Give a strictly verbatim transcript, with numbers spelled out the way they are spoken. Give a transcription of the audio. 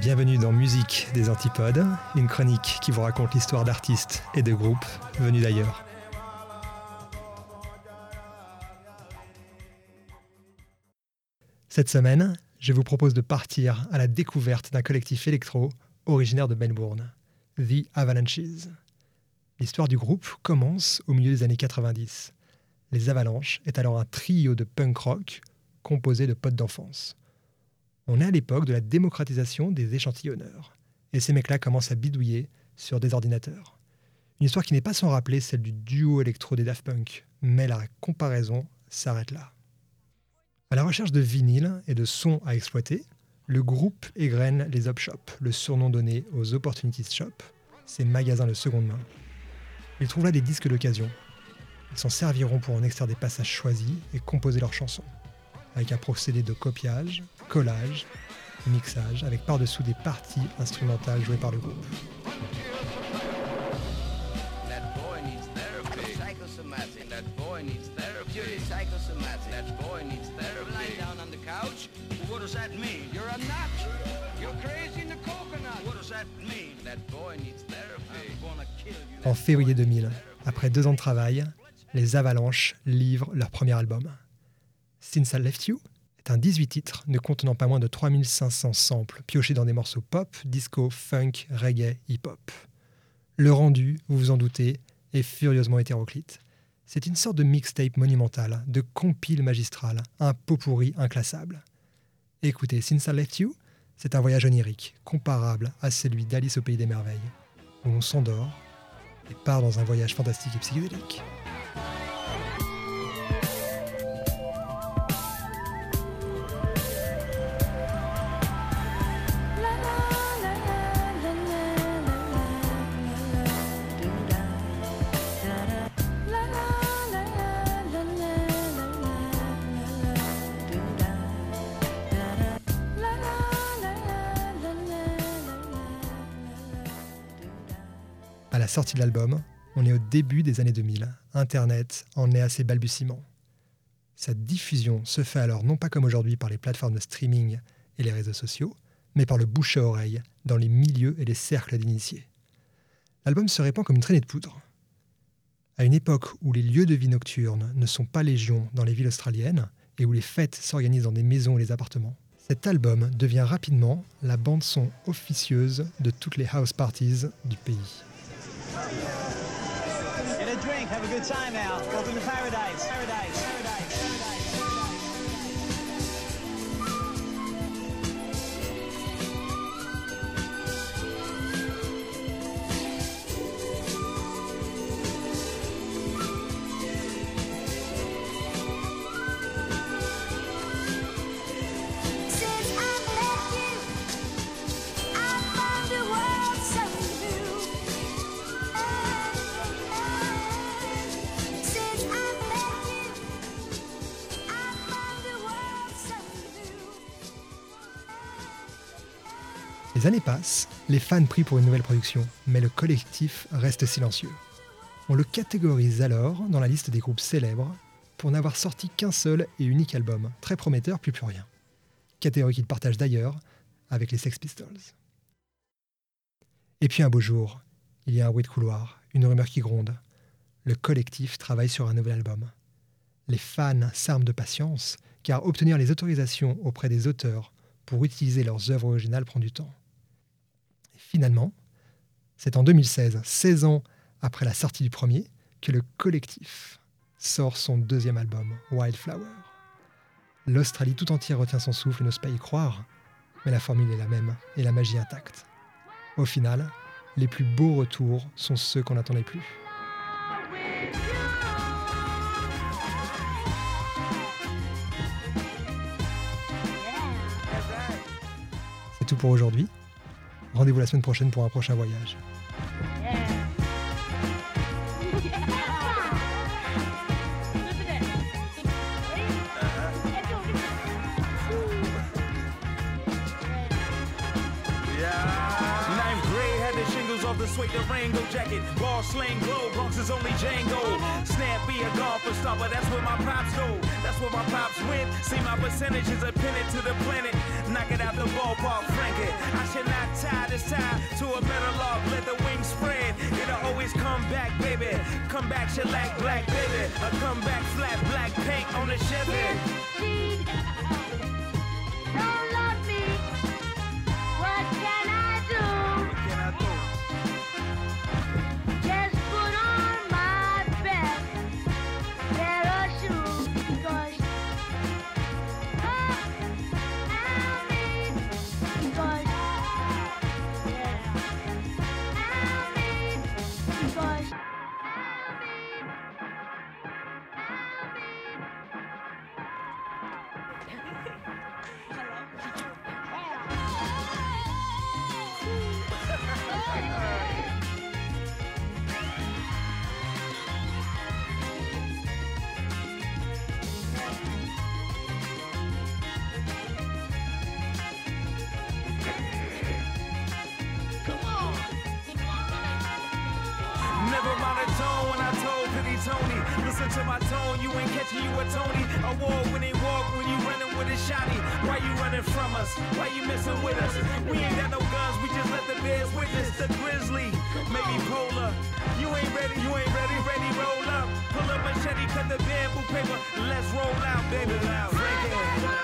Bienvenue dans Musique des Antipodes, une chronique qui vous raconte l'histoire d'artistes et de groupes venus d'ailleurs. Cette semaine, je vous propose de partir à la découverte d'un collectif électro originaire de Melbourne, The Avalanches. L'histoire du groupe commence au milieu des années quatre-vingt-dix. Les Avalanches est alors un trio de punk rock composé de potes d'enfance. On est à l'époque de la démocratisation des échantillonneurs, et ces mecs-là commencent à bidouiller sur des ordinateurs. Une histoire qui n'est pas sans rappeler celle du duo électro des Daft Punk, mais la comparaison s'arrête là. À la recherche de vinyles et de sons à exploiter, le groupe égrène les Op Shop, le surnom donné aux Opportunities Shop, ces magasins de seconde main. Ils trouvent là des disques d'occasion. Ils s'en serviront pour en extraire des passages choisis et composer leurs chansons, avec un procédé de copiage, collage, mixage, avec par-dessous des parties instrumentales jouées par le groupe. En février deux mille, après deux ans de travail, les Avalanches livrent leur premier album. Since I Left You est un dix-huit titres ne contenant pas moins de trois mille cinq cents samples piochés dans des morceaux pop, disco, funk, reggae, hip-hop. Le rendu, vous vous en doutez, est furieusement hétéroclite. C'est une sorte de mixtape monumental, de compile magistral, un pot-pourri inclassable. Écoutez, Since I Left You, c'est un voyage onirique, comparable à celui d'Alice au Pays des Merveilles, où on s'endort et part dans un voyage fantastique et psychédélique. À la sortie de l'album, on est au début des années deux mille. Internet en est à ses balbutiements. Sa diffusion se fait alors non pas comme aujourd'hui par les plateformes de streaming et les réseaux sociaux, mais par le bouche à oreille, dans les milieux et les cercles d'initiés. L'album se répand comme une traînée de poudre. À une époque où les lieux de vie nocturnes ne sont pas légion dans les villes australiennes et où les fêtes s'organisent dans des maisons et les appartements, cet album devient rapidement la bande-son officieuse de toutes les house parties du pays. Get a drink, have a good time now. Welcome to paradise. Paradise. Paradise. Les années passent, les fans prient pour une nouvelle production, mais le collectif reste silencieux. On le catégorise alors dans la liste des groupes célèbres pour n'avoir sorti qu'un seul et unique album, très prometteur, plus plus rien. Catégorie qu'il partage d'ailleurs avec les Sex Pistols. Et puis un beau jour, il y a un bruit de couloir, une rumeur qui gronde. Le collectif travaille sur un nouvel album. Les fans s'arment de patience, car obtenir les autorisations auprès des auteurs pour utiliser leurs œuvres originales prend du temps. Finalement, c'est en deux mille seize, seize ans après la sortie du premier, que le collectif sort son deuxième album, Wildflower. L'Australie tout entière retient son souffle et n'ose pas y croire, mais la formule est la même et la magie intacte. Au final, les plus beaux retours sont ceux qu'on n'attendait plus. C'est tout pour aujourd'hui. Rendez-vous la semaine prochaine pour un prochain voyage. Off the suede Durango jacket, ball sling glow, Bronx is only Django. Snappy a golfer star, but that's where my pops go. That's where my pops went. See my percentages are pinned to the planet. knock it out the ballpark, Frankie. I should not tie this tie to a metal log, let the wings spread. It'll always come back, baby. Come back, shellac, black, baby. A come back, flat, black paint on the Chevy. Don't love me. What can I do? What can I do? Just put on my best pair of shoes because oh, I mean, because yeah, I mean, because I mean, Never mind the tone when I told Pity Tony. Listen to my tone, you ain't catching you a Tony. Award-winning walk when you running with a shotty. Why you running from us? Why you messing with us? We ain't got no guns, we just let the bears witness. The grizzly, maybe polar. You ain't ready, you ain't ready, ready, roll up. Pull up machete, cut the bamboo paper. Let's roll out, baby. Frankie.